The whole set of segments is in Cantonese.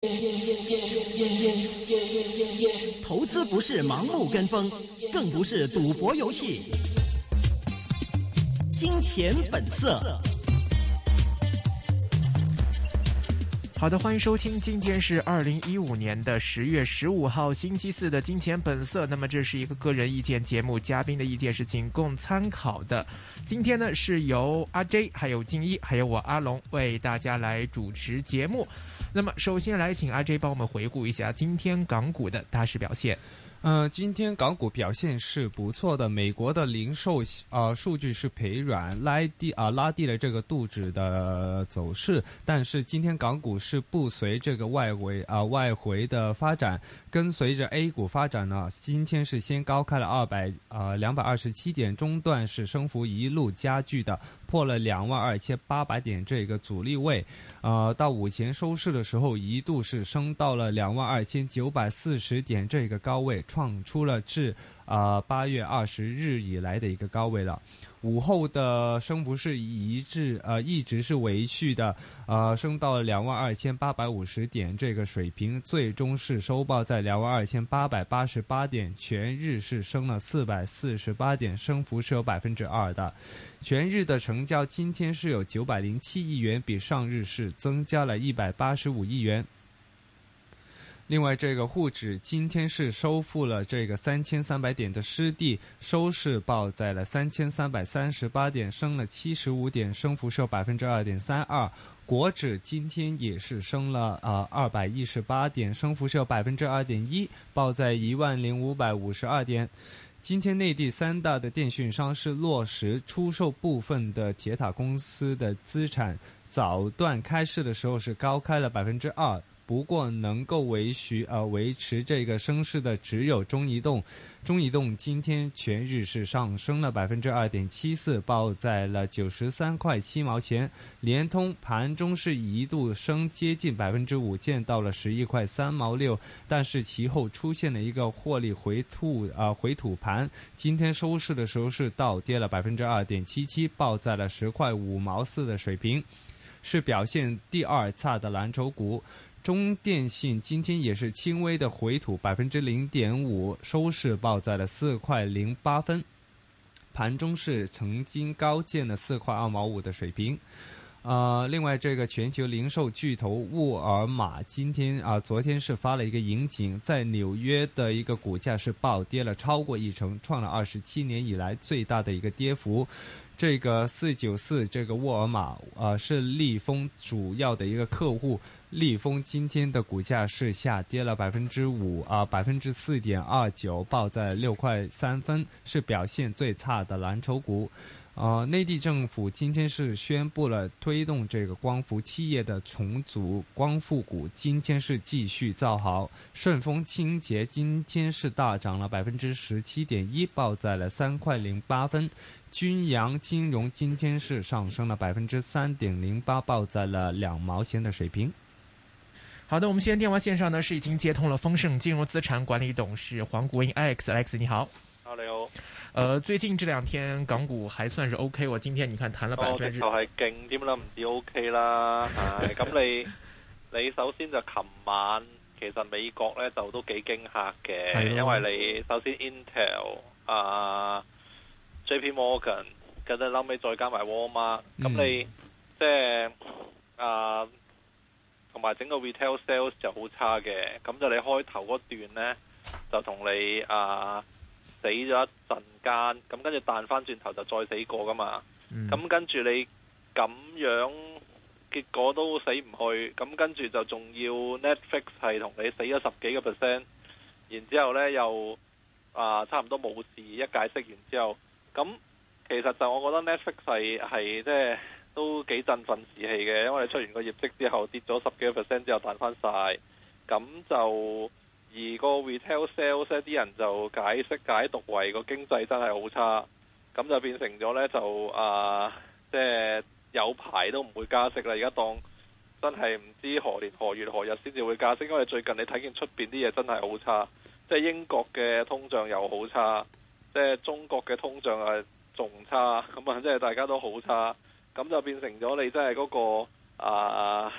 投资不是盲目跟风，更不是赌博游戏。金钱本色。 好的，欢迎收听，今天是2015年的10月15号星期四的金钱本色。那么这是一个个人意见节目，嘉宾的意见是仅供参考的。今天呢是由阿 J 还有静一还有我阿龙为大家来主持节目。那么首先来请阿 J 帮我们回顾一下今天港股的大势表现。 今天港股表现是不错的，美国的零售数据是疲软，拉低了这个道指的走势，但是今天港股是不随这个外回的发展，跟随着 A 股发展呢，今天是先高开了227点，中段是升幅一路加剧的，破了22,800点这个阻力位，到午前收市的时候一度是升到了22,940点这个高位，创出了自8月20日以来的一个高位了。午后的升幅是一直是维续的，升到了22,850点这个水平，最终是收报在22,888点，全日是升了448点，升幅是有2%的。全日的成交今天是有907亿元，比上日是增加了185亿元。另外，这个沪指今天是收复了这个3300点的失地，收市报在了3338点，升了75点，升幅是有2.32%。国指今天也是升了218点，升幅是有2.1%，报在10552点。今天内地三大的电讯商是落实出售部分的铁塔公司的资产，早段开市的时候是高开了2%。不过能够维持这个升势的只有中移动，中移动今天全日是上升了2.74%，报在了93块7毛钱。联通盘中是一度升接近5%，见到了11块3毛6，但是其后出现了一个获利回吐盘，今天收市的时候是倒跌了2.77%，报在了10块5毛4的水平，是表现第二差的蓝筹股。中电信今天也是轻微的回吐0.5%，收市报在了4块08分，盘中是曾经高见了4块2毛5的水平。另外这个全球零售巨头沃尔玛昨天是发了一个盈警，在纽约的一个股价是暴跌了超过1%，创了27年以来最大的一个跌幅。这个494这个沃尔玛是利丰主要的一个客户，利丰今天的股价是下跌了4.29%，报在6块3分，是表现最差的蓝筹股。内地政府今天是宣布了推动这个光伏企业的重组，光伏股今天是继续造好。顺丰清洁今天是大涨了17.1%，报在了3块08分。君阳金融今天是上升了3.08%，报在了2毛钱的水平。 好的，我们现在电话线上呢是已经接通了丰盛金融资产管理董事黄国英 Alex 你好。 你好。 最近这2天港股还算是 OK， 我今天你看彈了就係勁添啦，唔止 OK 啦。咁你首先就琴晚其實美國咧就都幾驚嚇嘅，因為你首先 Intel、JP Morgan， 跟住後尾再加埋 Walmart， 咁你即係同埋整個 retail sales 就好差嘅，咁就你開頭嗰段咧就同你死咗一陣間，咁跟住彈翻轉頭就再死過噶嘛，咁跟住你咁樣結果都死唔去，咁跟住就仲要 Netflix 係同你死咗10幾個%，然之後呢又差唔多冇事，一解釋完之後，咁其實就我覺得 Netflix 係即係都幾振奮士氣嘅，因為你出完個業績之後跌咗10幾個%之後彈翻晒，咁就。而個 retail sales 啲人就解讀為個經濟真係好差，咁就變成咗呢，就即係有排都唔會加息啦。而家當真係唔知何年何月何日先至會加息，因為最近你睇見出邊啲嘢真係好差，即係英國嘅通脹又好差，即係中國嘅通脹係仲差，咁即係大家都好差，咁就變成咗你真係嗰個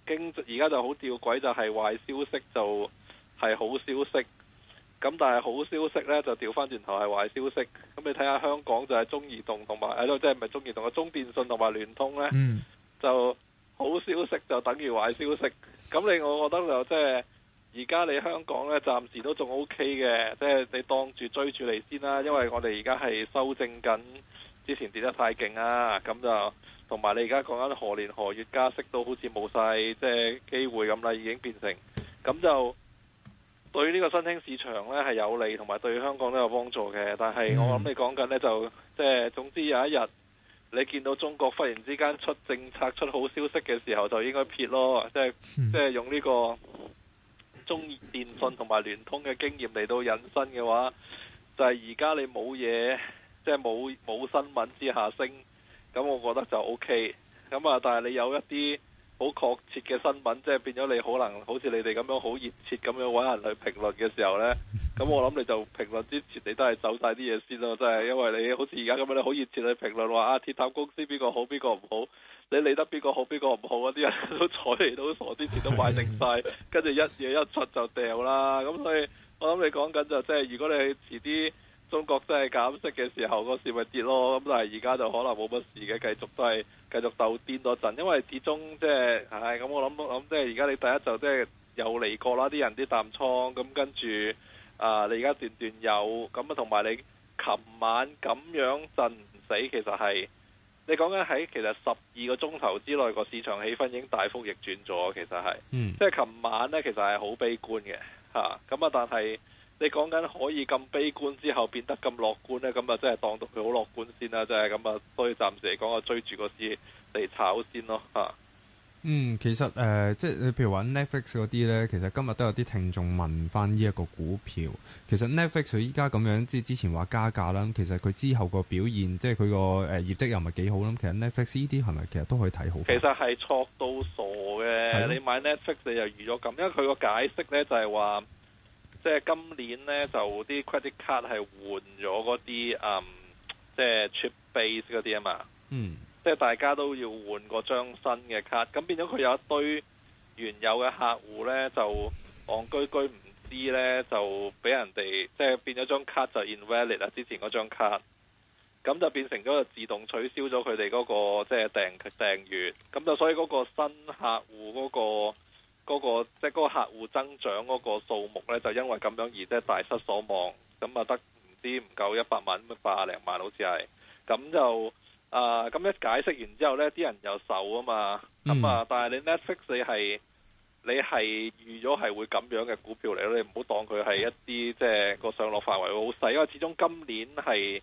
而家就好吊詭，就係壞消息就係好消息，咁但係好消息呢，就調翻轉頭係壞消息。咁你睇下香港就係中移動同埋即係唔係中移動嘅中電信同埋聯通呢，就好消息就等於壞消息。咁我覺得就即係而家你香港呢，暫時都仲 OK 嘅，即係你當住追住嚟先啦。因為我哋而家係修正緊之前跌得太勁啊，咁就同埋你而家講緊何年何月加息都好似冇晒即係機會咁啦，已經變成咁就對呢個新興市場呢係有利，同埋對香港都有幫助嘅。但係我諗你講緊呢，就即係總之有一日你見到中國忽然之間出政策出好消息嘅時候，就應該撇咯，即係用呢個中電信同埋聯通嘅經驗嚟到引申嘅話，就係而家你冇嘢，即係冇新聞之下升，咁我覺得就 OK。咁啊，但係你有一啲好確切嘅新聞，即係變咗你可能好似你哋咁樣好熱切咁樣揾人去評論嘅時候呢，咁我諗你就評論之前你都係走晒啲嘢先咯，即係因為你好似而家咁樣你好熱切去評論話鐵塔公司邊個好邊個唔好，你理得邊個好邊個唔好嗰啲人都睬你都傻，之前都買定晒，跟住一嘢一出就掉啦。咁所以我諗你講緊就即係如果你遲啲中國真係減息嘅時候，個市咪跌咯。咁但係而家就可能冇乜事嘅，繼續鬥癲多陣，因為始終即係咁我諗即係而家你第一就即係有嚟過啦，啲人啲淡倉，咁跟住你而家段有咁啊，同埋你琴晚咁樣震唔死，其實係你講緊喺其實12個鐘頭之內個市場氣氛已經大幅逆轉咗，其實係，即係琴晚呢，其實係好悲觀嘅咁但係你講緊可以咁悲觀之後變得咁樂觀呢，咁啊真係當到佢好樂觀先啦，即係咁啊，所以暫時嚟講啊，追住個市嚟炒先咯其實即係你譬如話 Netflix 嗰啲呢，其實今日都有啲聽眾問翻呢一個股票。其實 Netflix 佢依家咁樣，即係之前話加價啦，其實佢之後個表現，即係佢個業績又唔係幾好啦。其實 Netflix 呢啲係咪其實都可以睇好？其實係錯到傻嘅，你買 Netflix 你就預咗咁，因為佢個解釋呢就係話，即係今年呢，就啲 credit card 係換咗嗰啲即係 chip base 嗰啲啊嘛。即係大家都要換個張新嘅卡，咁變咗佢有一堆原有嘅客戶呢，就戇居居唔知呢，就俾人哋即係變咗張卡就 invalid 啦，之前嗰張卡，咁就變成咗就自動取消咗佢哋嗰個即係訂閱，咁就所以嗰個新客戶嗰個即係嗰個客戶增長嗰個數目呢，就因為咁樣而即係大失所望，咁啊得唔夠100萬，100零萬好似係，咁就。咁一解釋完之後呢，啲人又受啊嘛，但係你 Netflix 你係預咗係會咁樣嘅股票嚟咯，你唔好當佢係一啲即係個上落範圍好細，因為始終今年係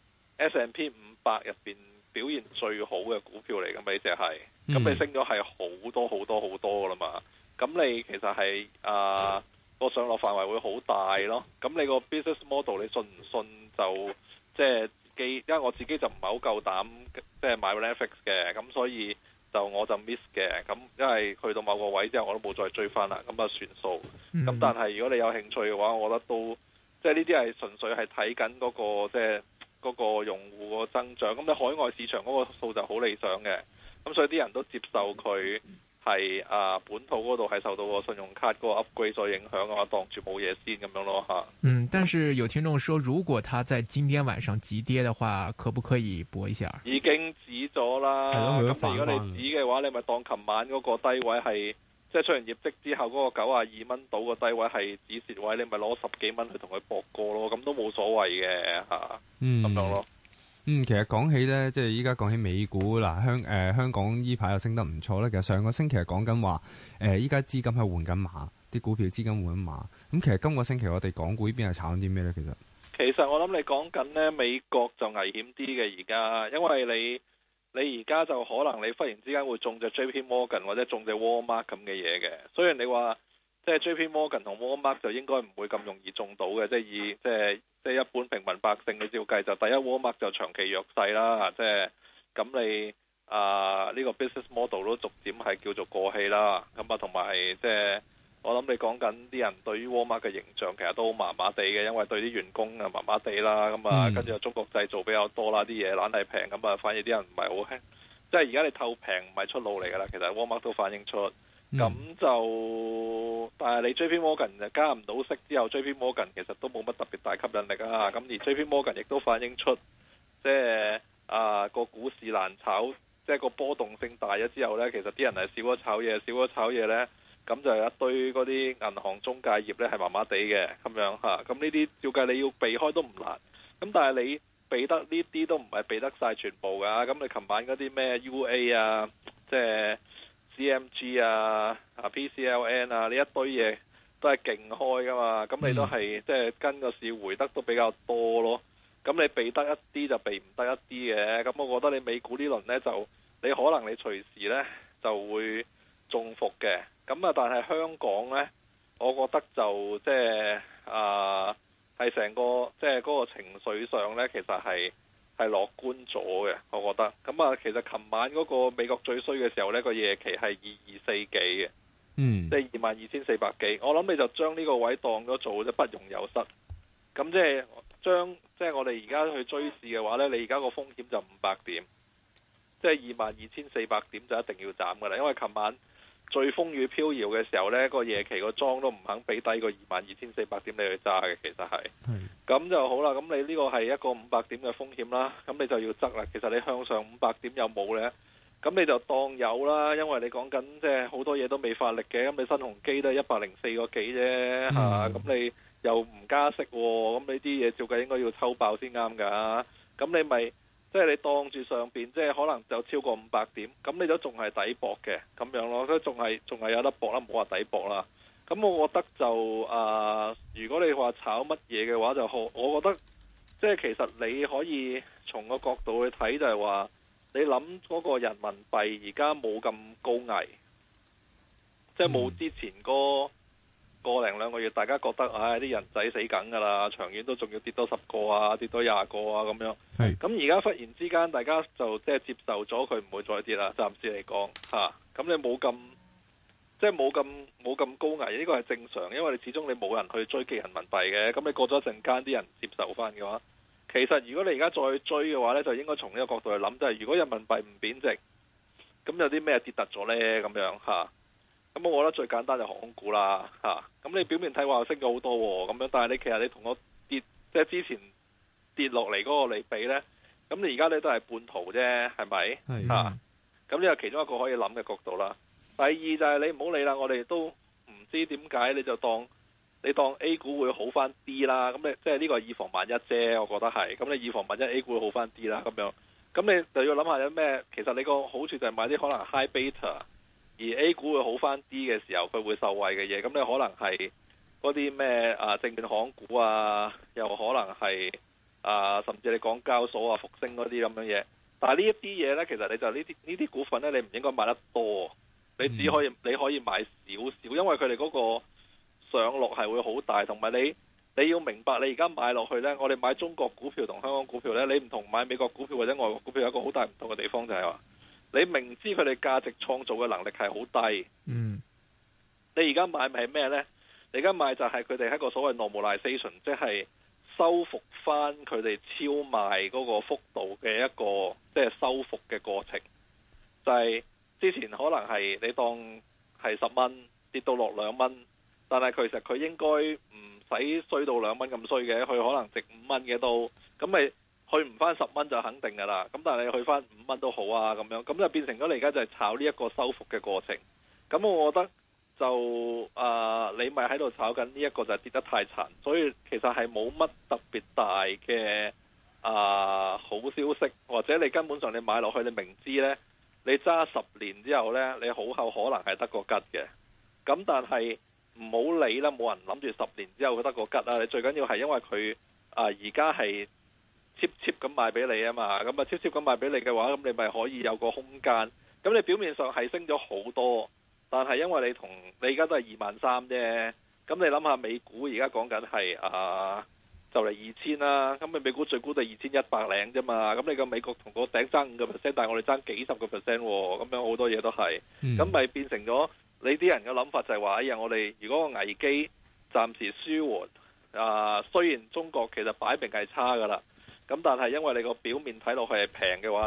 S&P 500入邊表現最好嘅股票嚟嘅，咪只係，咁你升咗係好多好多好多噶啦嘛，咁你其實係個上落範圍會好大咯，咁你個 business model 你信唔信就即係。因為我自己就唔係好夠膽即係買 Netflix 嘅，咁所以我就 miss 嘅，咁因為去到某個位之後我都冇再追翻啦，咁啊算數。咁但係如果你有興趣嘅話，我覺得都即係呢啲係純粹係睇緊嗰個即係嗰個用戶個增長。咁你海外市場嗰個數就好理想嘅，咁所以啲人都接受佢係本土嗰度係受到個信用卡嗰個 upgrade 所影響嘅話，當住冇嘢先咁樣咯嚇。 但是有聽眾說，如果他在今天晚上急跌的話，可不可以搏一下？ 已經止咗啦。咁如果你止嘅話，你咪當琴晚嗰個低位係，即係出完業績之後嗰個92蚊到個低位係止蝕位，你咪攞10幾蚊去同佢搏過咯，咁都冇所謂嘅嚇。咁樣咯。 其實講起咧，即係依家講起美股嗱，香港依排又升得唔錯咧。其實上個星期係講緊話，依家資金係換緊馬，啲股票資金換緊馬。咁其實今個星期我哋港股呢邊係炒緊啲咩咧？其實我諗你講緊咧美國就危險啲嘅而家，因為你而家就可能你忽然之間會中隻 JP Morgan 或者中隻 Walmart 咁嘅嘢嘅。雖然你話即係 JP Morgan 同 Walmart 就應該唔會咁容易中到嘅，即係以即係一般平民百姓嘅照計，就第一 Walmart 就長期弱勢啦，即係咁你呢個 business model 都逐漸係叫做過氣啦，咁啊同埋即係我諗你講緊啲人對於 Walmart 嘅形象其實都麻麻地嘅，因為對啲員工啊麻麻地啦，咁啊跟住中國製造比較多啦，啲嘢懶係平，咁啊反而啲人唔係好興，即係而家你透平唔係出路嚟㗎啦，其實 Walmart 都反映出， 咁就但係你 JP Morgan 就加唔到息之後，JP Morgan 其實都冇乜特別大吸引力啊。咁而 JP Morgan 亦都反映出即係個股市難炒，即係個波動性大咗之後呢，其實啲人係少咗炒嘢呢，咁就有一堆嗰啲銀行中介業呢係麻麻地嘅咁樣嚇。咁呢啲照計你要避開都唔難，咁但係你避得呢啲都唔係避得晒全部㗎。咁你琴晚嗰啲咩 UA 啊，即係 CMG 啊、PCLN 啊呢一堆嘢都係勁開㗎嘛。咁你都係即係跟個市回得都比較多咯。咁你避得一啲就避唔得一啲嘅。咁我覺得你美股呢輪呢，就你可能你隨時呢就會中伏嘅。咁啊，但係香港呢，我覺得就即係係成個即係嗰個情緒上呢，其實係樂觀咗嘅。我覺得咁啊，其實琴晚嗰個美國最衰嘅時候呢，個夜期係2240幾嘅，即係22,400幾。我諗你就將呢個位當咗做不容有失。咁即係我哋而家去追市嘅話呢，你而家個風險就500點，即係22,400點就一定要斬㗎啦。因為琴晚最風雨飄搖嘅時候呢，個夜期個莊都唔肯俾低個22,400點你去揸嘅，其實係。咁就好啦。咁你呢個係一個500點嘅風險啦。咁你就要執啦。其實你向上500點有冇呢？咁你就當有啦。因為你講緊即係好多嘢都未發力嘅。咁你新鴻基都係104個幾啫嚇。咁你又唔加息喎，咁呢啲嘢照計應該要抽爆先啱㗎。咁你咪即係你當住上邊，即係可能就超過500點，咁你都仲係抵搏嘅咁樣咯，都仲係有得搏啦，唔好話抵搏啦。咁我覺得就如果你話炒乜嘢嘅話就好，我覺得即係其實你可以從個角度去睇，就係話你諗嗰個人民幣而家冇咁高危，即係冇之前個零兩個月，大家覺得啲人仔死梗㗎啦，長遠都仲要跌多10個啊，跌多20個啊咁樣。咁而家忽然之間，大家就即係接受咗佢唔會再跌啦。暫時嚟講嚇，咁你冇咁即係冇咁高危，呢個係正常，因為你始終你冇人去追擊人民幣嘅。咁你過咗一陣間，啲人接受翻嘅話，其實如果你而家再追嘅話呢，就應該從呢個角度去諗，就係如果人民幣唔貶值，咁有啲咩跌突咗呢？咁樣嚇。咁我覺得最簡單就航空股啦嚇。咁你表面睇話升咗好多喎，咁樣，但係你其實你同我跌即係之前跌落嚟嗰個嚟比呢，咁你而家你都係半途啫，係咪嚇？咁呢個其中一個可以諗嘅角度啦。第二就係你唔好理啦，我哋都唔知點解你就當 A 股會好翻啲啦。咁你即係呢個以防萬一啫，我覺得係。咁你以防萬一 A 股會好翻啲啦，咁樣。咁你就要諗下有咩？其實你個好處就係買啲可能 high beta，而 A 股會好翻啲嘅時候，佢會受惠嘅嘢。咁你可能係嗰啲咩證券行股啊，又可能係甚至你港交所啊、復星嗰啲咁樣嘢。但係呢一啲嘢呢，其實你就呢啲股份呢，你唔應該買得多。你只可以你可以買少少，因為佢哋嗰個上落係會好大，同埋你要明白，你而家買落去呢，我哋買中國股票同香港股票呢，你唔同買美國股票或者外國股票有一個好大唔同嘅地方，就係話你明知佢哋價值創造嘅能力係好低，你而家買咪係咩呢？你而家買就係佢哋喺一個所謂 normalization， 即係收復翻佢哋超賣嗰個幅度嘅一個即係收復嘅過程，就係之前可能係你當係10蚊跌到落2蚊，但係其實佢應該唔使衰到2蚊咁衰嘅，佢可能值5蚊嘅都，咁咪去唔翻10蚊就肯定噶啦。咁但係你去翻5蚊都好啊，咁樣咁就變成咗你而家就係炒呢一個收復嘅過程。咁我覺得就你咪喺度炒緊呢一個就係跌得太殘，所以其實係冇乜特別大嘅好消息，或者你根本上你買落去你明知呢。你揸10年之後呢，你好後可能係得個吉嘅。咁但係唔好理啦，冇人諗住10年之後佢得個吉啦。你最緊要係因為佢而家係 cheap 咁賣俾你啊嘛。咁cheap 咁賣俾你嘅話，咁你咪可以有個空間。咁你表面上係升咗好多，但係因為你而家都係23,000啫。咁你諗下美股而家講緊係就嚟2000啦，咁你美股最高都係2100零啫嘛，咁你個美國同個頂爭5%，但係我哋爭幾十個 percent 喎，咁樣好多嘢都係，咁咪變成咗你啲人嘅諗法就係話，哎呀，我哋如果個危機暫時舒緩，雖然中國其實擺明係差噶啦，咁但係因為你個表面睇落去係平嘅話呢，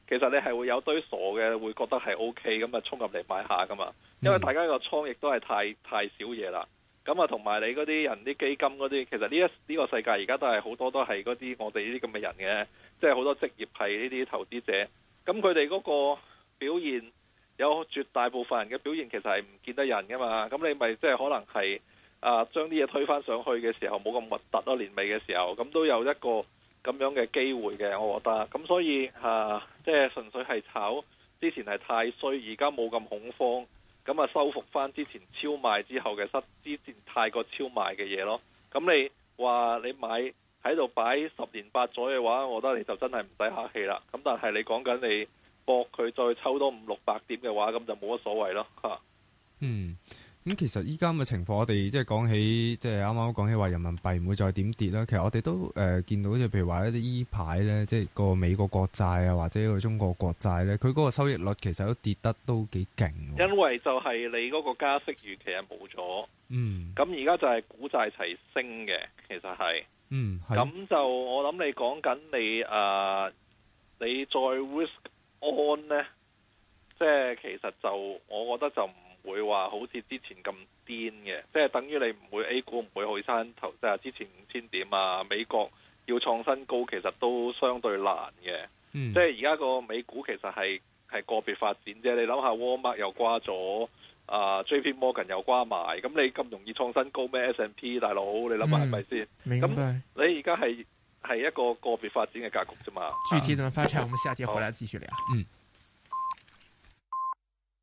其實你係會有堆傻嘅會覺得係 OK 咁啊，衝入嚟買下噶嘛。因為大家個倉亦都係太少嘢啦。咁啊，同埋你嗰啲人啲基金嗰啲，其實呢個世界而家都係好多都係嗰啲我哋呢啲咁嘅人嘅，即係好多職業係呢啲投資者。咁佢哋嗰個表現有絕大部分人嘅表現其實係唔見得人噶嘛。咁你咪即係可能係將啲嘢推返上去嘅時候冇咁核突咯，年尾嘅時候咁都有一個咁樣嘅機會嘅，我覺得。咁所以即係純粹係炒之前係太衰，而家冇咁恐慌。咁啊，收復翻之前超賣之後嘅之前太過超賣嘅嘢咯。咁你話你買喺度擺10年8載嘅話，我覺得你就真係唔使客氣啦。咁但係你講緊你搏佢再抽多500-600點嘅話，咁就冇乜所謂咯嚇。 咁其實依家咁嘅情況，我哋即係講起，即係啱啱講起話人民幣唔會再點跌啦。其實我哋都見到，即係譬如話一啲依排咧，即係個美國國債啊，或者個中國國債咧，佢嗰個收益率其實都跌得都幾勁。因為就係你嗰個加息預期係冇咗。咁而家就係股債齊升嘅，其實係。咁就我諗你講緊你再 risk on 咧，即係其實就我覺得就唔會話好似之前咁癲嘅，即係等於你唔會 A 股唔會去山頭，即係之前5000點啊，美國要創新高其實都相對難嘅。即係而家個美股其實係個別發展啫。你諗下 Walmart 又瓜咗，JP Morgan 又瓜埋，咁你咁容易創新高咩 S&P 大佬？你諗下係咪先？咁你而家係一個個別發展嘅格局啫嘛。 具體怎麼發展，我們下節回來繼續聊。